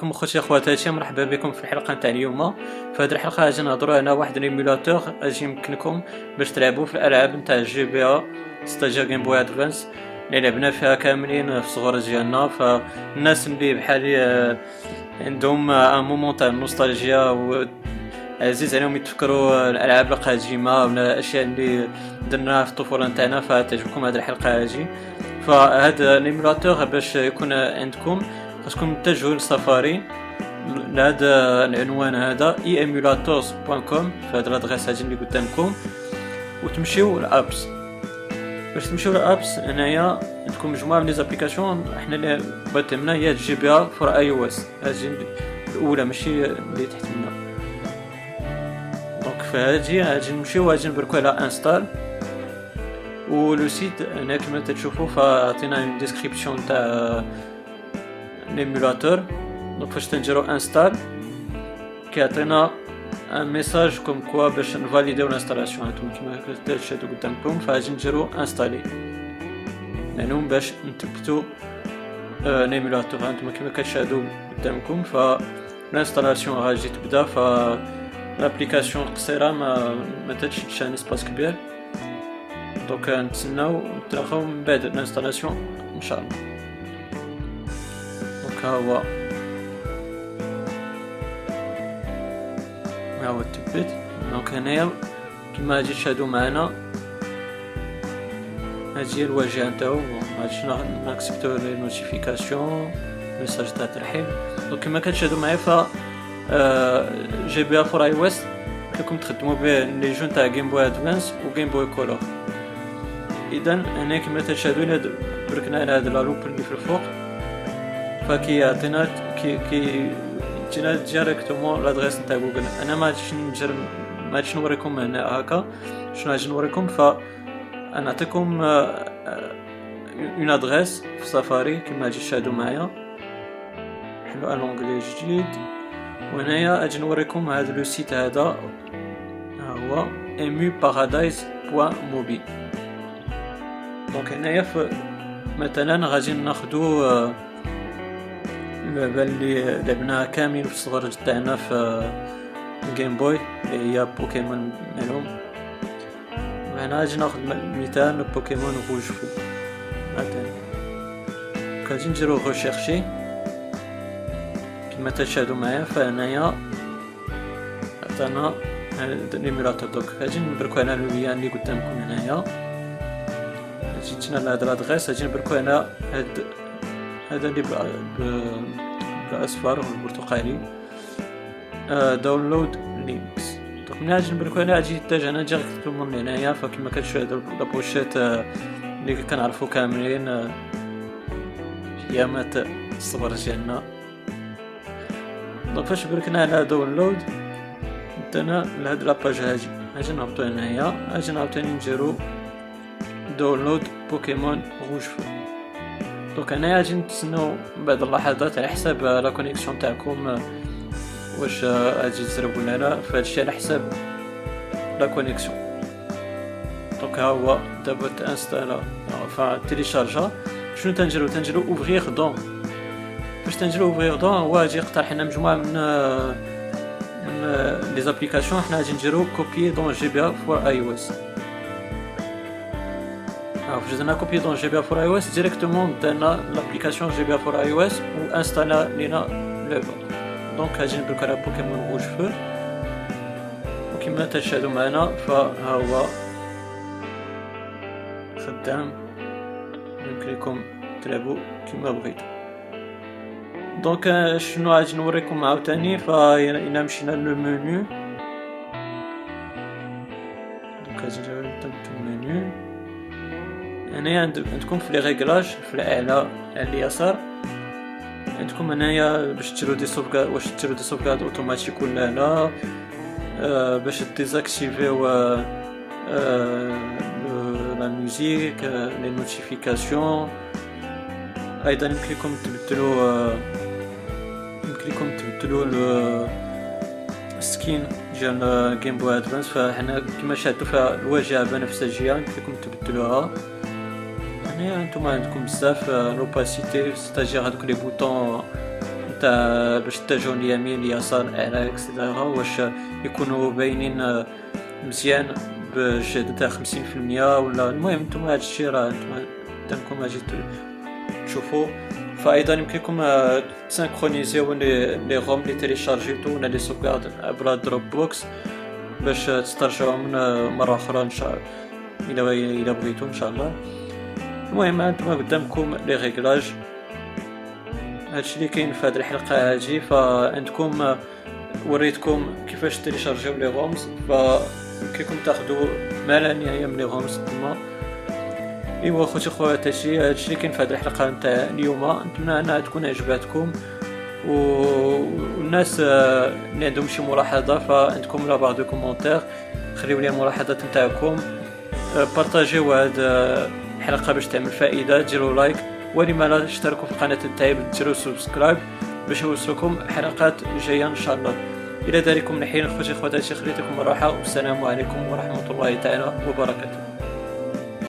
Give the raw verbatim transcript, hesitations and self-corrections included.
عليكم اخوتي اخواتاتي، مرحبا بكم في الحلقه نتاع اليوم. في هذه الحلقه غادي نهضروا على واحد الايميولاتور غادي يمكنكم باش تلعبوا في الالعاب نتاع الجي بي ا ستاجير جيم بوي ادفانس اللي لعبنا فيها كاملين في الصغر ديالنا. فالناس اللي بحالي عندهم ان مومون تاع النوستالجيا وعزيز عليهم يتفكروا الالعاب القديمه ولا الاشياء اللي درناها في الطفوله نتاعنا، فتعجبكم هذه الحلقه هذه. فهذا الايميولاتور باش يكون عندكم خاصكم تتجهوا للسفاري لهذا العنوان هذا اي ايميولاتورز دوت كوم في هذا الادريس هذه اللي قدامكم، وتمشيو للابس. باش تمشيو للابس هنايا عندكم مجموعه من لي زابليكاسيون. احنا اللي بغيت منا هي جي بي ا فور اي او اس، هذه الاولى ماشي اللي تحت منا. دونك فهذه غادي نمشيو غادي نبركو على انستال، ولو سيت هنا كما تشوفوا فعطينا اون ديسكريبسيون تاع ليمولاتور. دونك فاش تنجرو انستال كيعطينا ان ميساج كوم كوا باش نفاليديو الانستالاسيون. هانتوما كما كتشاهدوا قدامكم فغادي نديرو انستالي يعني باش نثبتوا ليمولاتور. هانتوما كما كتشاهدوا قدامكم فالانستالاسيون غادي تبدا. ف لابليكاسيون قصيره ما ما تشدش ان اسباس كبير، دونك نتسناو نتلاقاو من بعد الانستالاسيون ان شاء الله. دونك ها هو ها هو التبت. دونك هنايا كما غادي تشاهدوا معنا هذه هي الواجهه نتاعو. غادي ناكسبتو لي نوتيفيكاسيون ميساج تاع ترحيب. دونك كما كتشاهدوا معايا ف جي بي ا فور اي او اس كيكم تخدموا به لي جون تاع جيم بوي ادفانس و جيم بوي كولور. اذا هنا كما تشاهدوا الى بركنا على هذا لوب اللي في الفوق فكيعطينا كي كي جينا ديريكتومون لادريس نتاع جوجل. انا ما غاديش نجر ما غاديش نوريكم هنا هكا شنو غادي نوريكم. ف انا نعطيكم اون ادريس في سفاري كما غادي تشاهدوا معايا. نحلوا لونغلي جديد وهنايا اجي نوريكم هذا لو سيت هذا ها هو ايمو بارادايس بوان موبي. دونك هنايا مثلا غادي ناخذوا اللعبه اللي لعبناها كامل في الصغر تاعنا في جيم بوي اللي هي بوكيمون معلوم. هنا غادي ناخذ مثال بوكيمون روج فو مثلا. غادي نديرو ريشيرشي كما تشاهدوا معايا. فهنايا عطانا ليمولاتور. دوك غادي نبركو على اللي اللي قدامكم هنايا. جيتنا لهاد لادريس غادي نبركو على هاد هذا اللي بالاصفر والبرتقالي داونلود لينكس. دونك ملي غادي نبركو عليها غادي يتجهنا ديريكتومون هنايا. فكما كتشاهدوا لابوشيت اللي كنعرفوا كاملين ايامات الصبر ديالنا. دونك فاش بركنا على داونلود دنا لهاد لاباج هادي غادي نهبطو هنايا. غادي عاوتاني نديرو داونلود بوكيمون روج فو. دونك هنايا غادي نتسناو بعض اللحظات على حساب لا كونيكسيون تاعكم واش غادي تزرب ولا لا. فهادشي على حساب لا كونيكسيون. دونك ها هو دابا تانستالا فتيليشارجا. شنو تنجرو تنجرو اوفغيغ دون. باش تنجرو اوفغيغ دون هو غادي يقترح لنا مجموعه من من لي زابليكاسيون. حنا غادي نديرو كوبي دون جي بي ا فور اي او اس. فاش درنا كوبي دون جي بي ا فور اي او اس ديريكتومون درنا لابليكاسيون جي بي ا فور اي او اس و انستالا لينا لعبه. دونك غادي نبركو على بوكيمون روج فو وكما تشاهدوا معنا فها هو خدام يمكن لكم تلعبوا كما بغيتوا. دونك شنو غادي نوريكم عاوتاني فإلا مشينا لو منيو. دونك غادي نبداو المنيو. هنايا عندكم في لي ريغلاج في الاعلى على اليسار عندكم هنايا باش ديروا دي سوفغارد واش ديروا دي سوفغارد اوتوماتيك ولا لا. أه باش ديزاكتيفيو أه لا ميوزيك لي نوتيفيكاسيون. ايضا يمكن لكم تبدلوا أه يمكن لكم تبدلوا السكين ديال جيم بوي ادفانس. فحنا كما شاهدتوا فالواجهه بنفسجيه يمكن لكم تبدلوها. هنا نتوما عندكم بزاف لوباسيتي ستاجير هذوك لي بوطون تاع باش تتجهوا يمين يسار اعلى اكسيتيرا، واش يكونوا باينين مزيان بجهد تاع خمسين في المية ولا. المهم نتوما هادشي راه نتوما قدامكم اجي تشوفوا. فايضا يمكنكم تسانكرونيزيو لي روم لي تيليشارجيتو ولا لي سوغارد عبر دروب بوكس باش تسترجعوهم مره اخرى ان شاء الله الى الى بغيتو ان شاء الله. المهم انتم قدامكم لي ريغلاج، هادشي اللي كاين في هذه الحلقه هذه. فعندكم وريتكم كيفاش تيليشارجيو لي رومز، فكيكم تاخذوا ما لا نهايه من لي رومز تما. ايوا خوتي خواتاتي، هادشي اللي كاين في هذه الحلقه نتاع اليوم. نتمنى انها تكون عجباتكم، والناس اللي عندهم شي ملاحظه فعندكم لا باغ دو كومونتير، خليو لي الملاحظات نتاعكم، بارطاجيو هاد الحلقه باش تعمل فائده، ديروا لايك، ولما لا تشتركوا في القناه نتاعي ديروا سبسكرايب باش يوصلكم حلقات جايه ان شاء الله. الى ذلكم الحين خوتي خواتاتي خليتكم الراحه، والسلام عليكم ورحمه الله تعالى وبركاته.